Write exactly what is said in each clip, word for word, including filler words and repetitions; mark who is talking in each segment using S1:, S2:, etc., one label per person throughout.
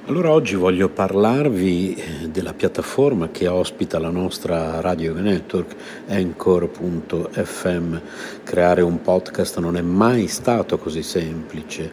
S1: Allora oggi voglio parlarvi della piattaforma che ospita la nostra radio network, Anchor punto effe emme. Creare un podcast non è mai stato così semplice,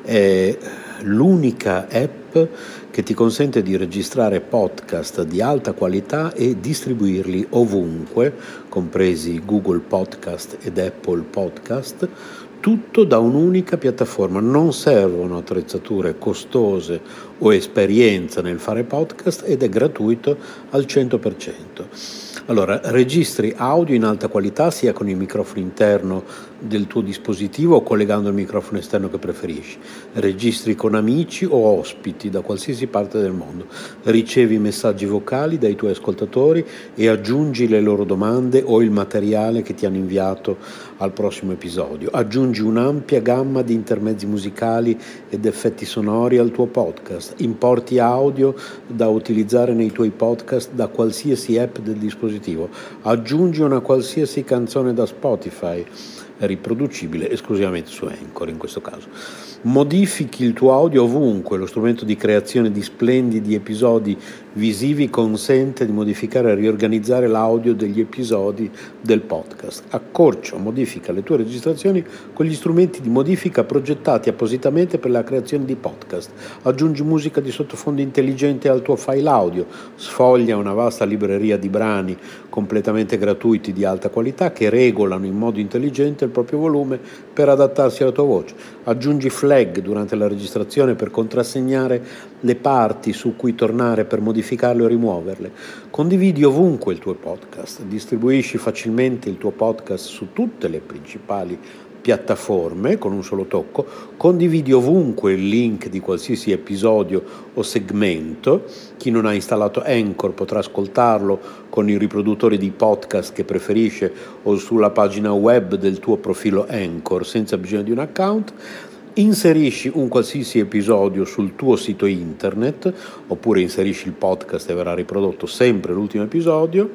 S1: è l'unica app che ti consente di registrare podcast di alta qualità e distribuirli ovunque, compresi Google Podcast ed Apple Podcast, tutto da un'unica piattaforma. Non servono attrezzature costose o esperienza nel fare podcast ed è gratuito al cento per cento. Allora, registri audio in alta qualità sia con il microfono interno del tuo dispositivo o collegando il microfono esterno che preferisci. Registri con amici o ospiti da qualsiasi parte del mondo. Ricevi messaggi vocali dai tuoi ascoltatori e aggiungi le loro domande o il materiale che ti hanno inviato al prossimo episodio. Aggiungi un'ampia gamma di intermezzi musicali ed effetti sonori al tuo podcast. Importi audio da utilizzare nei tuoi podcast da qualsiasi app del dispositivo. Aggiungi una qualsiasi canzone da Spotify, riproducibile esclusivamente su Anchor in questo caso. Modifichi il tuo audio ovunque. Lo strumento di creazione di splendidi episodi visivi consente di modificare e riorganizzare l'audio degli episodi del podcast. Accorcia o modifica le tue registrazioni con gli strumenti di modifica progettati appositamente per la creazione di podcast. Aggiungi musica di sottofondo intelligente al tuo file audio. Sfoglia una vasta libreria di brani completamente gratuiti di alta qualità che regolano in modo intelligente il proprio volume per adattarsi alla tua voce. Aggiungi flag durante la registrazione per contrassegnare le parti su cui tornare per modificarle o rimuoverle. Condividi ovunque il tuo podcast. Distribuisci facilmente il tuo podcast su tutte le principali piattaforme con un solo tocco. Condividi ovunque il link di qualsiasi episodio o segmento. Chi non ha installato Anchor potrà ascoltarlo con i riproduttori di podcast che preferisce o sulla pagina web del tuo profilo Anchor senza bisogno di un account. Inserisci un qualsiasi episodio sul tuo sito internet oppure inserisci il podcast e verrà riprodotto sempre l'ultimo episodio.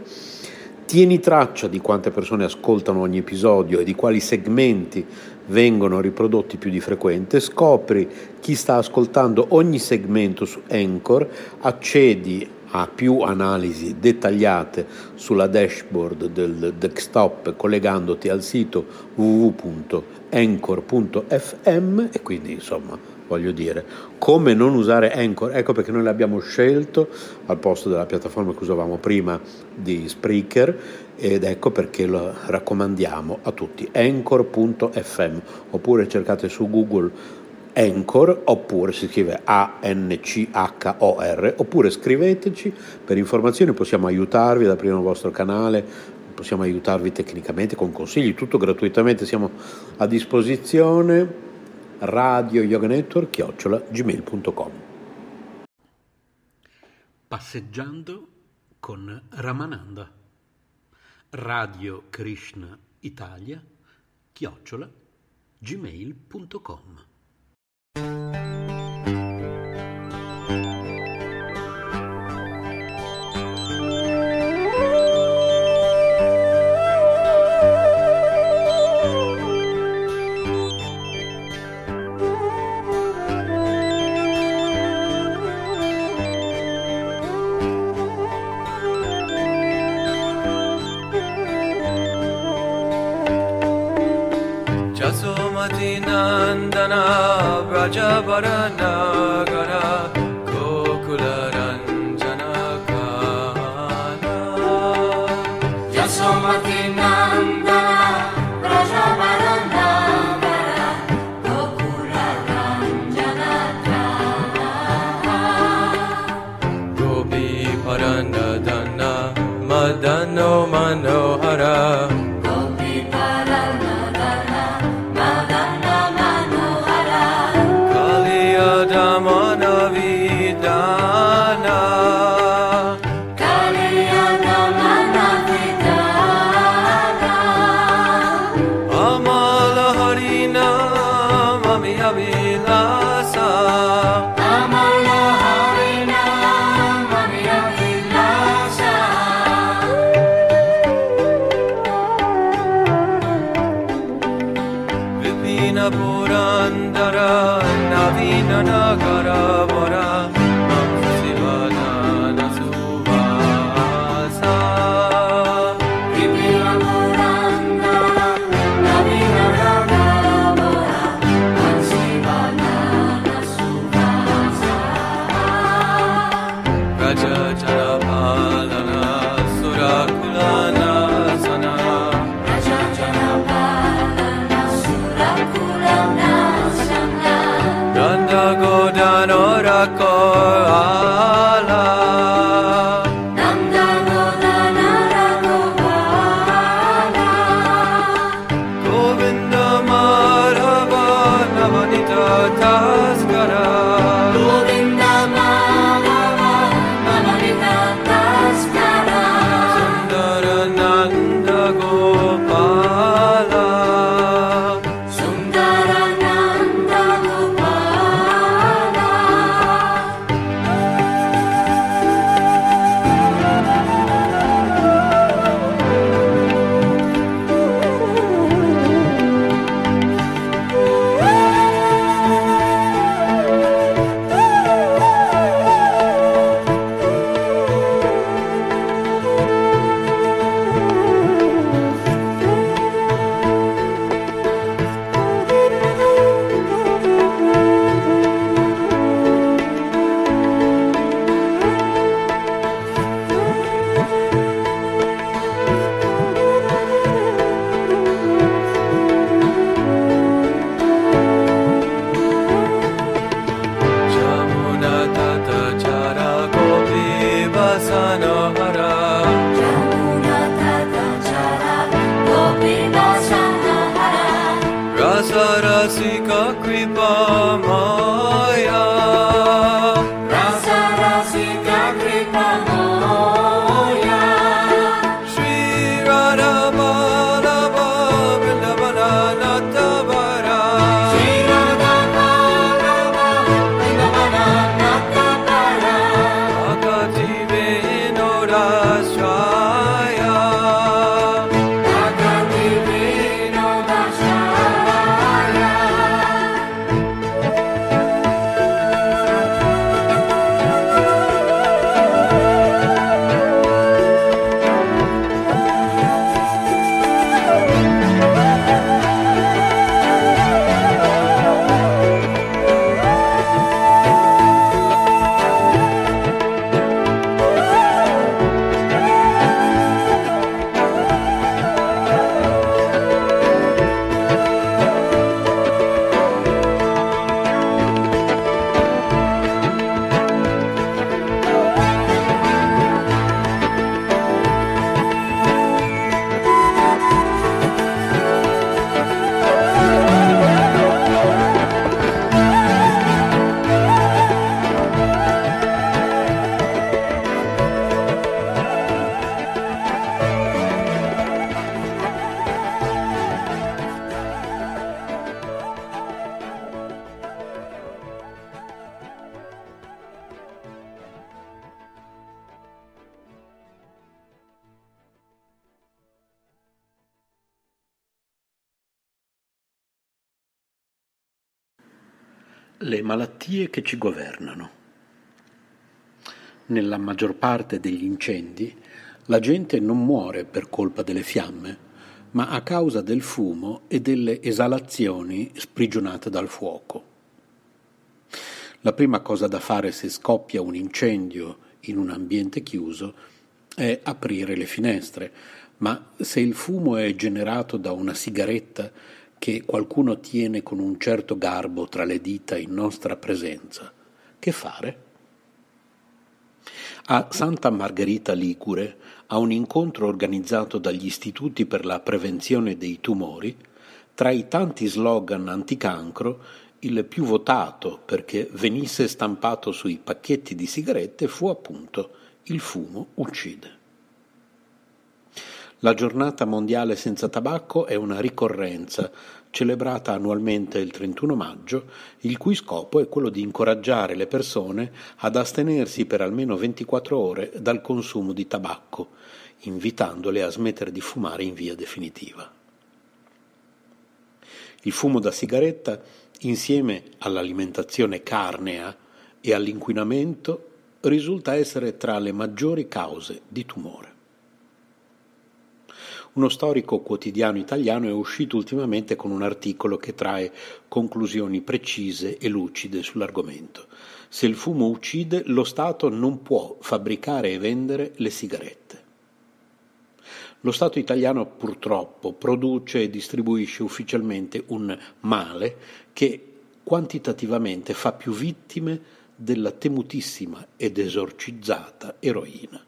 S1: Tieni traccia di quante persone ascoltano ogni episodio e di quali segmenti vengono riprodotti più di frequente. Scopri chi sta ascoltando ogni segmento su Anchor, accedi a più analisi dettagliate sulla dashboard del desktop collegandoti al sito w w w punto anchor punto effe emme e quindi insomma voglio dire come non usare Anchor. Ecco perché noi l'abbiamo scelto al posto della piattaforma che usavamo prima di Spreaker ed ecco perché lo raccomandiamo a tutti. Anchor punto effe emme oppure cercate su Google Anchor oppure si scrive A N C H O R oppure scriveteci per informazioni, possiamo aiutarvi ad aprire un vostro canale, possiamo aiutarvi tecnicamente con consigli, tutto gratuitamente, siamo a disposizione. Radio Yoga Network chiocciola gmail punto com.
S2: Passeggiando con Ramananda. Radio Krishna Italia chiocciola gmail punto com.
S3: Jasomati Nandana Brajabarana Gara Gokula Ranjana Kana
S4: Jasomati Nandana Brajabarana Gara Gokula Ranjana Kana
S3: Gopi Paranadana Madano Manohara Purandara Navina Nagara Vara Raja Janapalana Surakulana Sana
S4: Raja Janapalana Surakulana Sana
S3: Nanda Godano Rakor Ala
S4: Nanda Godana Rakopala
S3: Govinda Madhava Navanita Taskara
S4: Govinda Madhava Navanita Taskara
S3: Sundarananda Gopala
S4: Sundarananda Gopala
S3: Jamuna Tata Chara Gopi Vasanohara
S4: Jamuna Tata Chara Gopi Vasanohara
S3: Rasa Rasika Kripa Maya
S4: Rasa Rasika Kripa Moya
S3: Shri Radha Madhava Vrindavana Natavara
S4: Shri Radha Madhava Vrindavana Natapara
S3: Akati Vinodashraya
S4: Akati Vinodashraya
S2: Le malattie che ci governano. Nella maggior parte degli incendi la gente non muore per colpa delle fiamme, ma a causa del fumo e delle esalazioni sprigionate dal fuoco. La prima cosa da fare se scoppia un incendio in un ambiente chiuso è aprire le finestre, ma se il fumo è generato da una sigaretta che qualcuno tiene con un certo garbo tra le dita in nostra presenza, che fare? A Santa Margherita Ligure, a un incontro organizzato dagli Istituti per la Prevenzione dei Tumori, tra i tanti slogan anticancro, il più votato perché venisse stampato sui pacchetti di sigarette fu appunto "Il fumo uccide". La giornata mondiale senza tabacco è una ricorrenza celebrata annualmente il trentuno maggio, il cui scopo è quello di incoraggiare le persone ad astenersi per almeno ventiquattro ore dal consumo di tabacco, invitandole a smettere di fumare in via definitiva. Il fumo da sigaretta, insieme all'alimentazione carnea e all'inquinamento, risulta essere tra le maggiori cause di tumore. Uno storico quotidiano italiano è uscito ultimamente con un articolo che trae conclusioni precise e lucide sull'argomento. Se il fumo uccide, lo Stato non può fabbricare e vendere le sigarette. Lo Stato italiano purtroppo produce e distribuisce ufficialmente un male che quantitativamente fa più vittime della temutissima ed esorcizzata eroina.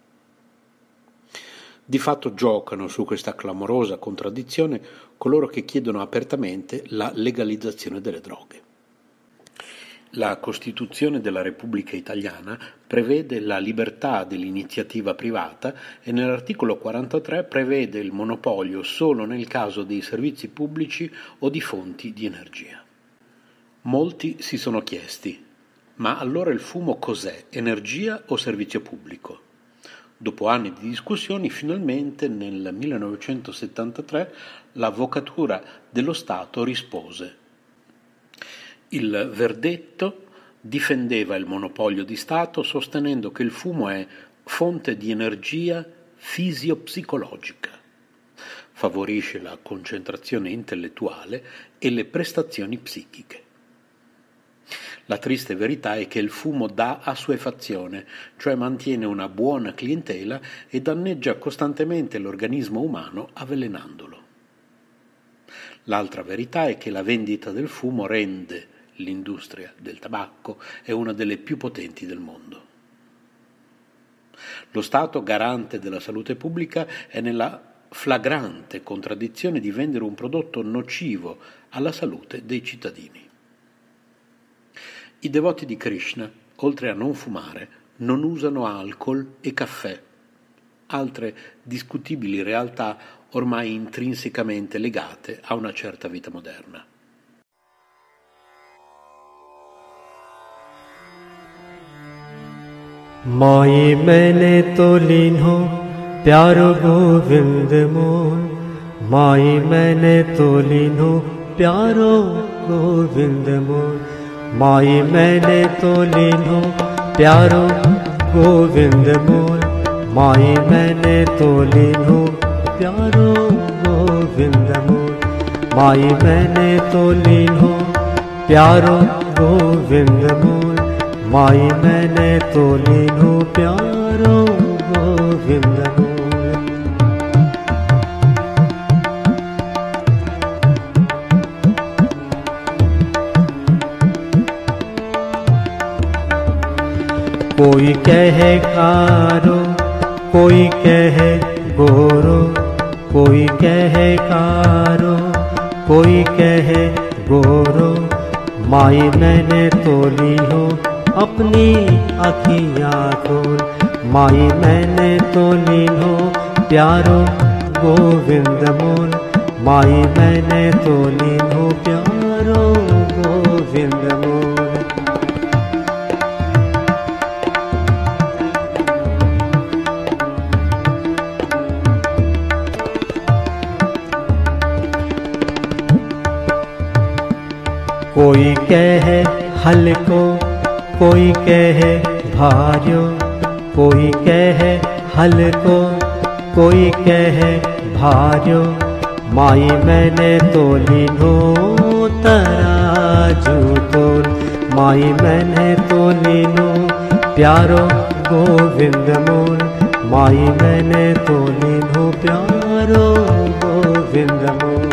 S2: Di fatto giocano su questa clamorosa contraddizione coloro che chiedono apertamente la legalizzazione delle droghe. La Costituzione della Repubblica Italiana prevede la libertà dell'iniziativa privata e nell'articolo quarantatré prevede il monopolio solo nel caso dei servizi pubblici o di fonti di energia. Molti si sono chiesti: ma allora il fumo cos'è? Energia o servizio pubblico? Dopo anni di discussioni, finalmente nel millenovecentosettantatré l'Avvocatura dello Stato rispose. Il verdetto difendeva il monopolio di Stato sostenendo che il fumo è fonte di energia fisiopsicologica, favorisce la concentrazione intellettuale e le prestazioni psichiche. La triste verità è che il fumo dà assuefazione, cioè mantiene una buona clientela e danneggia costantemente l'organismo umano avvelenandolo. L'altra verità è che la vendita del fumo rende l'industria del tabacco è una delle più potenti del mondo. Lo Stato, garante della salute pubblica, è nella flagrante contraddizione di vendere un prodotto nocivo alla salute dei cittadini. I devoti di Krishna, oltre a non fumare, non usano alcol e caffè, altre discutibili realtà ormai intrinsecamente legate a una certa vita moderna.
S5: माई मैंने तो लीन हो प्यारो गोविंद मोर, माई मैंने तो लीन हो प्यारो गोविंद मोर, माई मैंने तो लीन हो प्यारो गोविंद मोर, माई मैंने तो लीन हो प्यारो गोविंद मोर, माई मैंने तो लीन हो प्यारो गोविंद मोर, माई मैंने तो लीन हो प्यारो गोविंद मोर। कोई कहे कारो, कोई कहे गोरो, कोई कहे कारो, कोई कहे गोरो, माई मैंने तो ली हो अपनी अखियाँ खोल, माई मैंने तो ली हो प्यारो गोविंद मोर, माई मैंने तो ली हो प्यारो गोविंद मोर। कोई कहे हल्को, कोई कहे भार्यो, कोई कहे हल्को, कोई कहे भार्यो, माई मैंने तो लीनो तराजू तोल, माई मैंने तो लीनो प्यारो गोविंद मोर, माई मैंने तो लीनो प्यारो गोविंद मोर।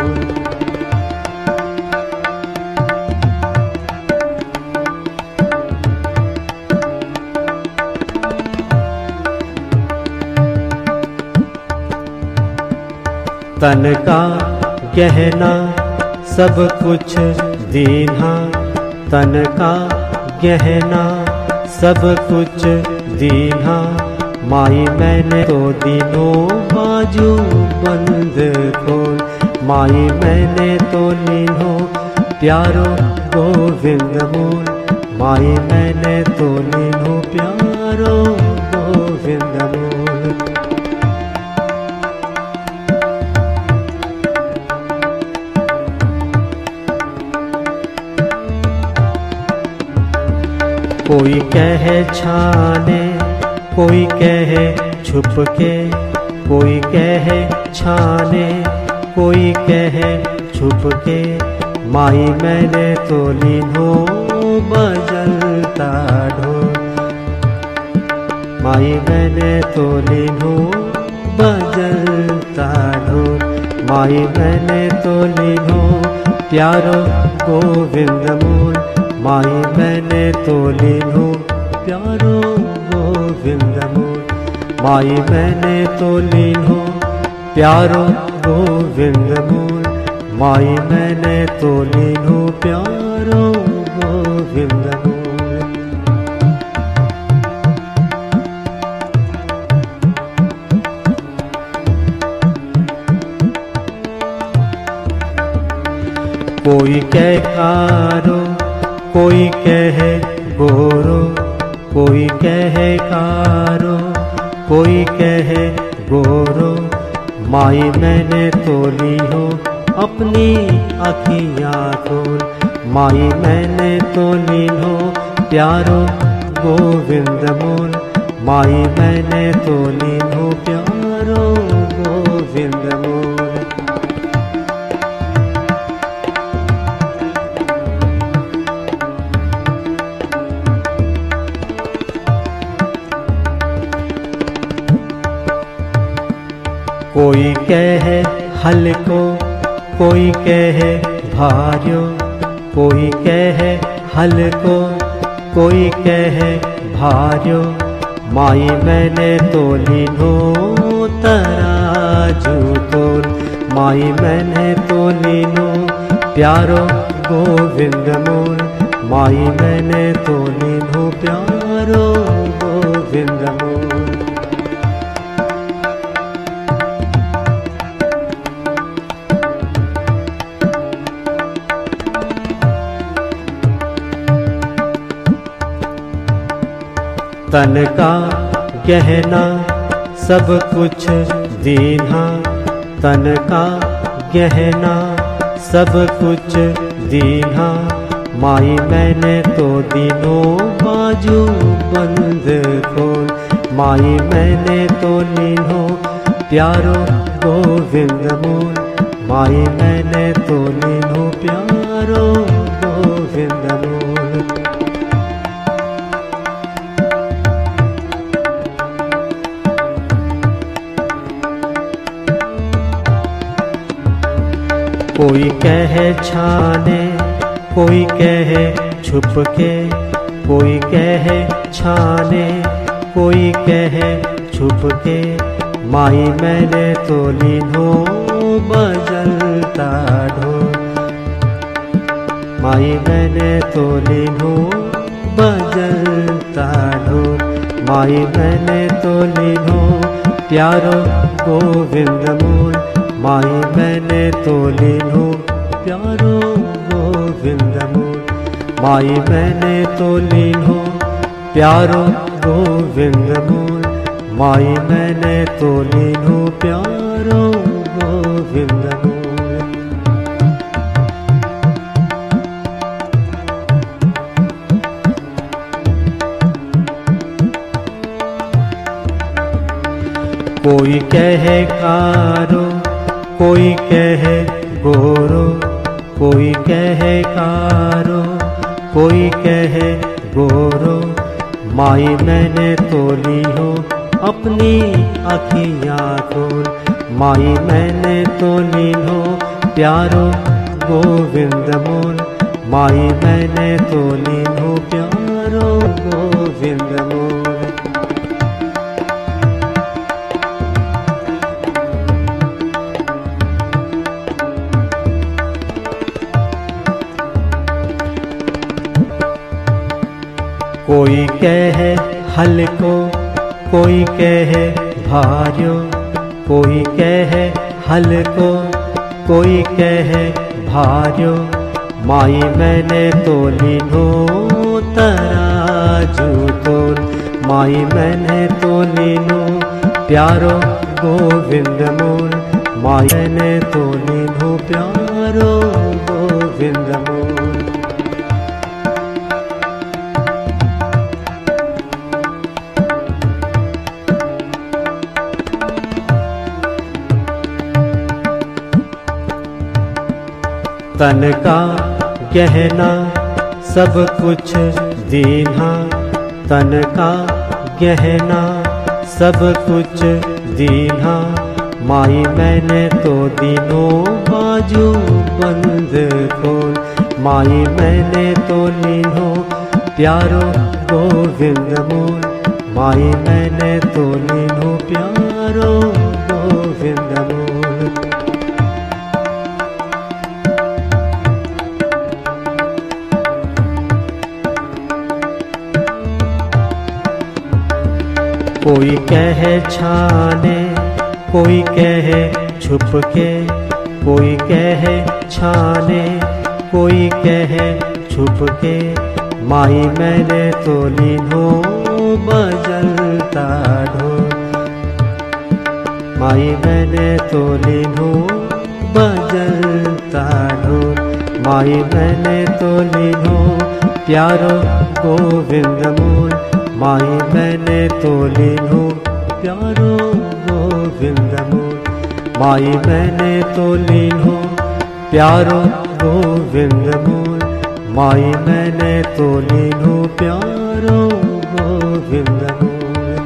S5: तन का गहना सब कुछ दीन्हा, तन का गहना सब कुछ दीन्हा, माई मैंने तो दीनो बाजू बंद खोल, माई मैंने तो लीनो प्यारो गोविंद मोर, माई मैंने तो लीनो प्यारो गोविंद मोर। कोई कहे छाने, कोई कहे छुप के, कोई कहे छाने, कोई कहे छुप के, माई मैंने तो लीनो बजलता ढोल। माई मैंने तो लीनो बजलता ढोल, माई मैंने तो लीनो प्यारो गोविंद मोल। माई मैंने तो लीनो प्यारो गोविंद मोल, माई मैंने तो लीनो प्यारो गोविंद मोल। माई मैंने तो लीनो प्यारो गोविंद मोल। कोई कहे कारो, कोई कहे गोरो, कोई कहे कारो, कोई कहे गोरो। माई मैंने तो ली हो अपनी अखियाँ खोल, माई मैंने तो ली हो प्यारो गोविंद मोल। माई मैंने तो ली हो प्यारो गोविंद मोल। कोई कहे हल्को, कोई कहे भार्यो, कोई कहे हल्को, कोई कहे भार्यो। माई मैंने तो लीनो तराजू तोल, माई मैंने तो लीनो प्यारो गोविंद मोल। माई मैंने तो लीनो प्यारो गोविंद मोल। तन का गहना सब कुछ दीन्हा, तन का गहना सब कुछ दीन्हा। माई मैंने तो दीनो बाजू बंद खोल, माई मैंने तो लीनो प्यारो गोविंद मोल। माई मैंने तो लीनो प्यारो गोविंद मोल। कोई कहे छाने, कोई कहे छुप के, कोई कहे छाने, कोई कहे छुप के। माई मैंने तो लीनो बजलता ढोल, माई मैंने तो लीनो बजलता ढोल। माई मैंने तो लीनो प्यारो गोविंद मोल। माई मैंने तो लीनो प्यारो गोविंद मोल। माई मैंने तो लीनो प्यारो गोविंद मोल। माई मैंने तो लीनो प्यारो गोविंद मोल। कोई कहे कारो, कोई कहे गोरो, कोई कहे कारो, कोई कहे गोरो। माई मैंने तो ली हो अपनी अखियाँ खोल, माई मैंने तो ली हो प्यारो गोविंद मोल। माई मैंने तो ली हो प्यारो गोविंद मोल। कोई कहे हल्को, कोई कहे भार्यो, कोई कहे हल्को, कोई कहे भार्यो। माई मैंने तो लीनो तराजू तोल, माई मैंने तो लीनो प्यारो गोविंद मोल। माई मैंने तो लीनो प्यारो गोविंद मोल। तन का गहना सब कुछ दीन्हा, तन का गहना सब कुछ दीन्हा। माई मैंने तो दिनों बाजू बंद खोल, माई मैंने तो लीन्हो प्यारो गोविंद मोल, माई मैंने तो लीन्हो प्यारो गोविंद मोल। कोई कहे छाने, कोई कहे छुप के, कोई कहे छाने, कोई कहे छुप के। माई मैंने तो लीन्हो बजलता ढोल, माई मैंने तो लीन्हो बजलता ढोल, माई मैंने तो लीन्हो प्यारो गोविंद मोल, माई मैंने तो लीन्हो प्यारो गोविंद मोल, माई मैंने तो लीन्हो प्यारो गोविंद मोल, माई मैंने तो लीन्हो प्यारो गोविंद मोल।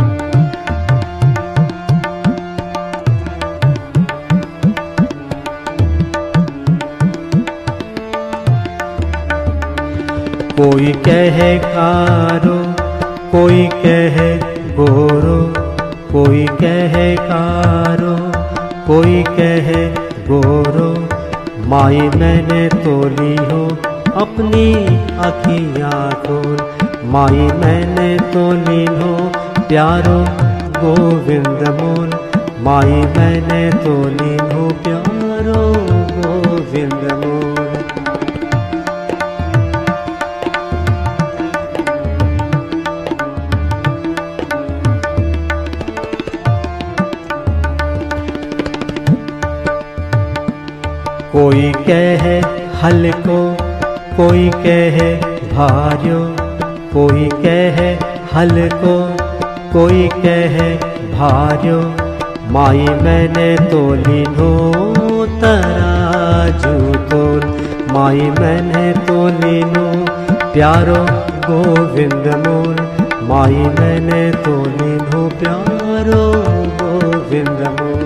S5: कोई कहे कारो, कोई कहे गोरो, कोई कहे कारो, कोई कहे गोरो। माई मैंने तो ली हो अपनी अखियाँ खोल, माई मैंने तो ली हो प्यारो गोविंद मोल, माई मैंने तो ली हो प्यारो गोविंद मोल। कोई कहे हल्को, कोई कहे भार्यो, कोई कहे हल्को, कोई कहे भार्यो। माई मैंने तो लीन्हो तराजू तोल, माई मैंने तो लीन्हो प्यारो गोविंद मोल, माई मैंने तो लीन्हो प्यारो गोविंद मोल।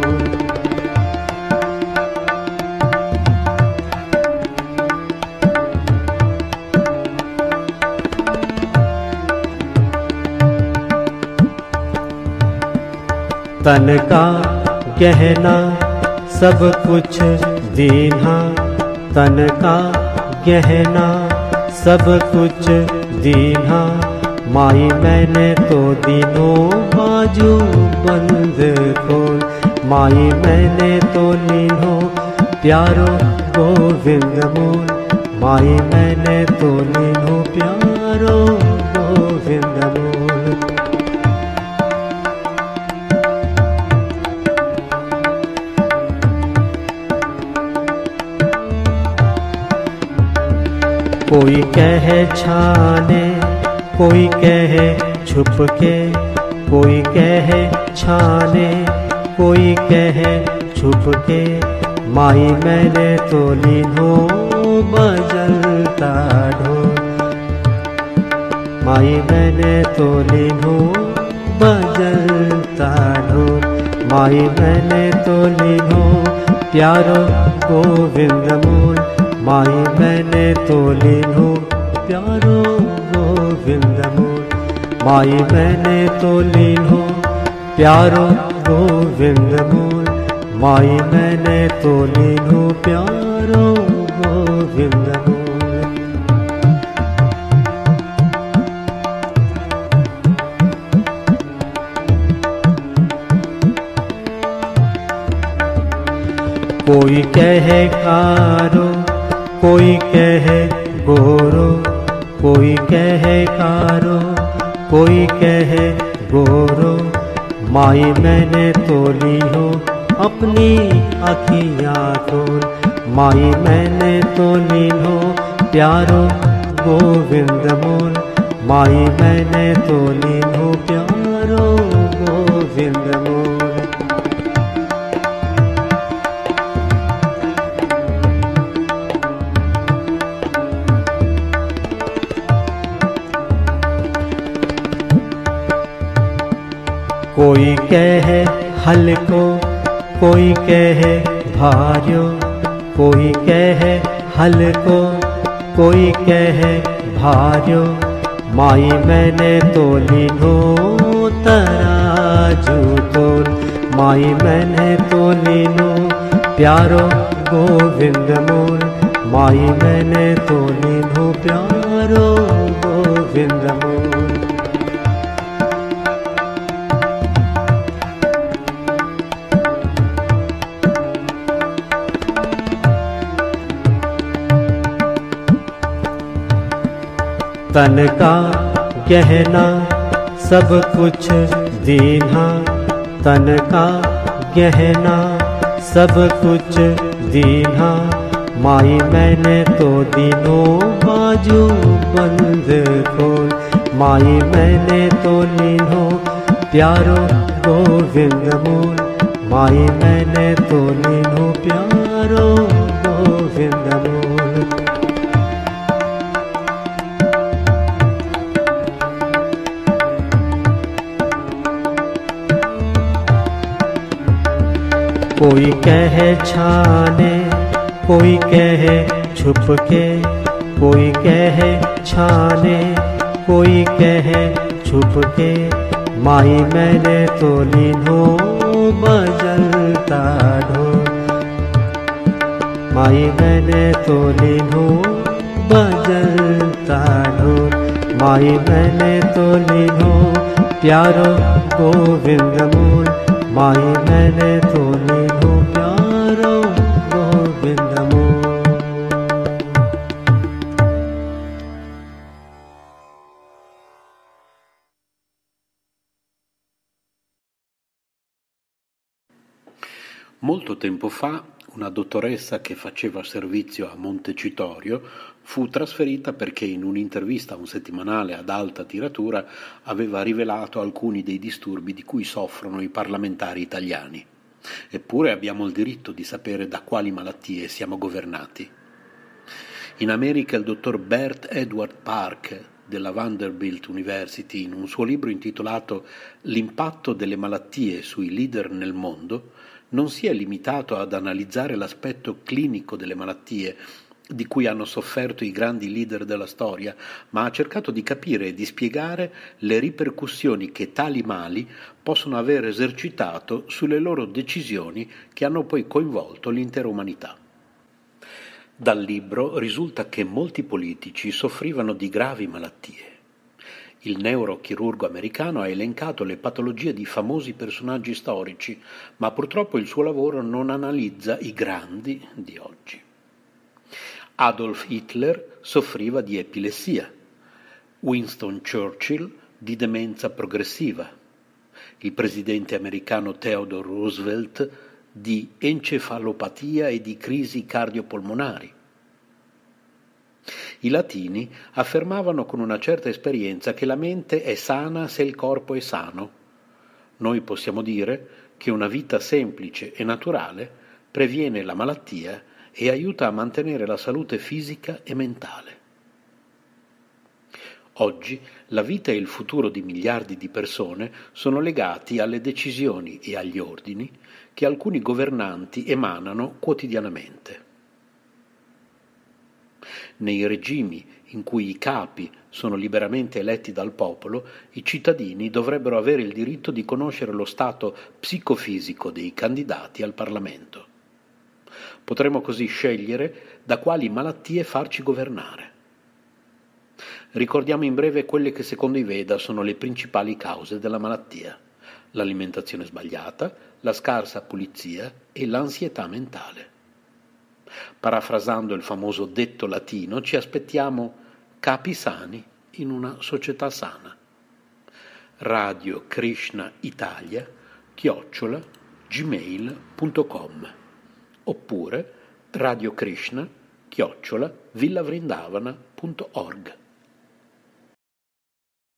S5: तन का गहना सब कुछ दीन्हा, तन का गहना सब कुछ दीन्हा। माई मैंने तो दिनों बाजू बंद खोल, माई मैंने तो लीन्हो प्यारो गोविंद मोल, माई मैंने तो लीन्हो प्यारो गोविंद मोल। कोई कहे छाने, कोई कहे छुप के, कोई कहे छाने, कोई कहे छुप के। माई मैंने तो लीन्हो बजलता ढोल, माई मैंने तो लीन्हो बजलता ढोल, माई मैंने तो लीन्हो प्यारो गोविंद मोल, माई मैंने तो लीन्हो प्यारो गोविंद मोल, माई मैंने तो लीन्हो प्यारो गोविंद मोल, माई मैंने तो लीन्हो प्यारो गोविंद मोल। कोई कहे कारो, कोई कहे गोरो, कोई कहे कारो, कोई कहे गोरो। माई मैंने तो ली हो अपनी अखियाँ खोल, माई मैंने तो ली हो प्यारो गोविंद मोल, माई मैंने तो ली हो प्यारो गोविंद मोल। कोई कहे हल्को, कोई कहे भार्यो, कोई कहे हल्को, कोई कहे भार्यो। माई मैंने तोली नो तराजू तोल, माई मैंने तोली नो प्यारो गोविंद मोल, माई मैंने तोली नो प्यारो गोविंद मोल। तन का गहना सब कुछ दीन्हा, तन का गहना सब कुछ दीन्हा। माई मैंने तो दीनो बाजू बंद खोल, माई मैंने तो लीनो प्यारो गोविंद मोल, माई मैंने तो लीनो प्यारो गोविंद मोल। कोई कहे छाने, कोई कहे छुप के, कोई कहे छाने, कोई कहे छुप के। माई मैंने तो लीनो बजलता ढोल, माई मैंने तो लीनो बजलता ढोल, माई मैंने तो लीनो प्यारो गोविंद मोल, माई मैंने तो लीनो प्यारो गोविंद मोल।
S2: Molto tempo fa una dottoressa che faceva servizio a Montecitorio fu trasferita perché in un'intervista a un settimanale ad alta tiratura aveva rivelato alcuni dei disturbi di cui soffrono i parlamentari italiani. Eppure abbiamo il diritto di sapere da quali malattie siamo governati. In America il dottor Bert Edward Park della Vanderbilt University, in un suo libro intitolato L'impatto delle malattie sui leader nel mondo, non si è limitato ad analizzare l'aspetto clinico delle malattie di cui hanno sofferto i grandi leader della storia, ma ha cercato di capire e di spiegare le ripercussioni che tali mali possono aver esercitato sulle loro decisioni che hanno poi coinvolto l'intera umanità. Dal libro risulta che molti politici soffrivano di gravi malattie. Il neurochirurgo americano ha elencato le patologie di famosi personaggi storici, ma purtroppo il suo lavoro non analizza i grandi di oggi. Adolf Hitler soffriva di epilessia, Winston Churchill di demenza progressiva, il presidente americano Theodore Roosevelt di encefalopatia e di crisi cardiopolmonari. I latini affermavano con una certa esperienza che la mente è sana se il corpo è sano. Noi possiamo dire che una vita semplice e naturale previene la malattia e aiuta a mantenere la salute fisica e mentale. Oggi la vita e il futuro di miliardi di persone sono legati alle decisioni e agli ordini che alcuni governanti emanano quotidianamente. Nei regimi in cui i capi sono liberamente eletti dal popolo, i cittadini dovrebbero avere il diritto di conoscere lo stato psicofisico dei candidati al Parlamento. Potremmo così scegliere da quali malattie farci governare. Ricordiamo in breve quelle che secondo i Veda sono le principali cause della malattia: l'alimentazione sbagliata, la scarsa pulizia e l'ansietà mentale. Parafrasando il famoso detto latino, ci aspettiamo capi sani in una società sana. Radio Krishna Italia chiocciola gmail punto com oppure Radio Krishna chiocciola villavrindavana punto org.